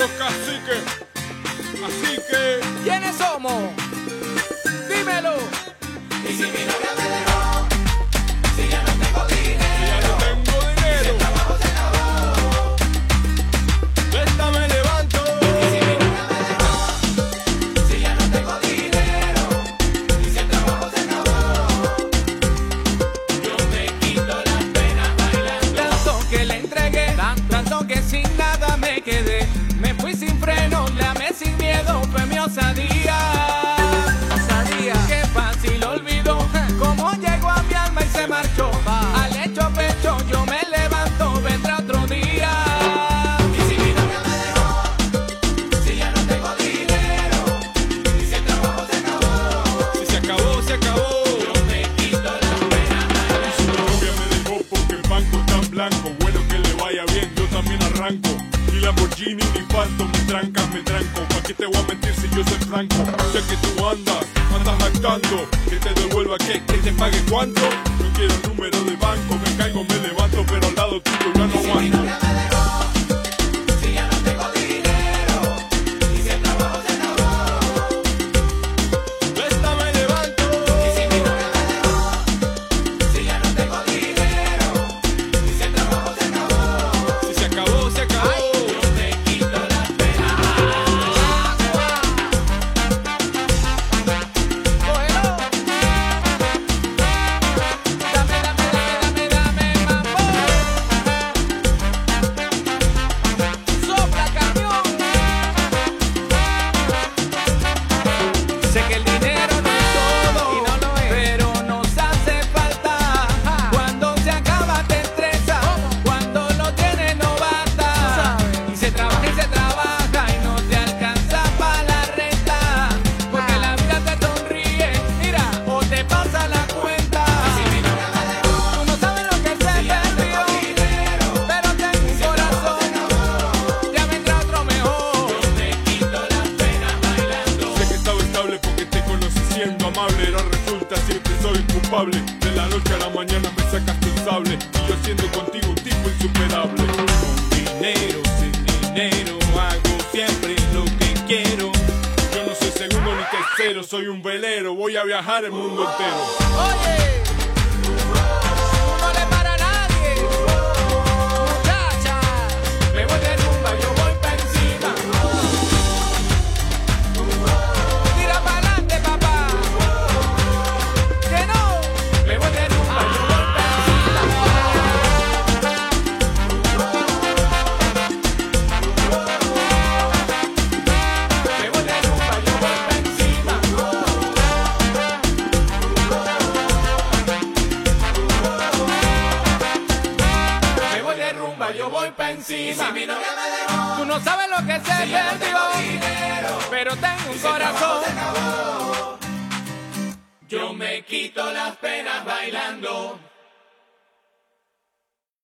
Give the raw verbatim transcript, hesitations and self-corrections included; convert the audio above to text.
los caciques. Así que, ¿quiénes somos? Dímelo. Y si mi novia me dejó, si ya no tengo dinero, si ya no tengo si dinero, el trabajo se acabó. de esta me levanto. Y si mi novia me dejó, si ya no tengo dinero, y si el trabajo se acabó, yo me quito las penas bailando. Tanto que le entregué, tanto que sin nada me quedé. Me fui sin freno, le amé sin miedo, fue mi osadía. Osadía. Qué fácil olvidó cómo llegó a mi alma y se marchó. Al hecho pecho yo me levanto, vendrá otro día. Y si mi novia me dejó, si ya no tengo dinero, y si el trabajo se acabó, Si se acabó, se acabó. yo me quito las penas bailando. Su novia me dejó porque el banco está en blanco. Bueno, que le vaya bien, yo también arranco. Ni Lamborghini ni Phantom, me trancas, me tranco. ¿Pa' qué te voy a mentir si yo soy franco? Sé que tú andas, andas jactando. Que te devuelva qué, que te pague cuánto. No quiero número de banco, me caigo, me levanto, pero al lado tuyo ya no Si mi aguanto. novia me dejó, si ya no tengo dinero, y si el trabajo se acabó. De esta me levanto. Y si mi novia me dejó, si ya no tengo dinero, y si el trabajo se acabó, Si se acabó, se acabó. yo me quito las penas. Cógelo. Dame, dame, dame, dame, dame, mambo. Sopla, camión. Sé que el dinero no es todo, y no lo es, pero nos hace falta. Cuando se acaba te estresa, cuando lo tienes no basta. Y se trabaja y se trabaja y no te alcanza para la renta. Porque la vida te sonríe, mira, o te pasa la cuenta. Si mi novia me dejó, Tú no sabes lo que se perdió, dinero, pero tengo un corazón. Ya vendrá otro mejor. yo me quito las penas bailando. Sé que estaba estable porque te conocí siendo amable. Ahora resulta siempre soy culpable. De la noche a la mañana me sacaste un sable. Y yo siendo contigo un tipo insuperable. Con dinero, sin dinero, hago siempre lo que quiero. Yo no soy segundo ni tercero, soy un velero. Voy a viajar el mundo entero. Oye, tú no le para a nadie. Muchacha, me voy de rumba, yo voy pa' encima. Tira pa'lante, papá. Que no, me voy de rumba, yo voy pa' encima. Me voy de rumba, yo voy pa' encima. Me voy de rumba, yo voy pa' Y encima. si mi novia me dejó, Tú no sabes lo que se si ya no tengo perdió, dinero, pero tengo un si el trabajo corazón. se acabó, yo me quito las penas bailando.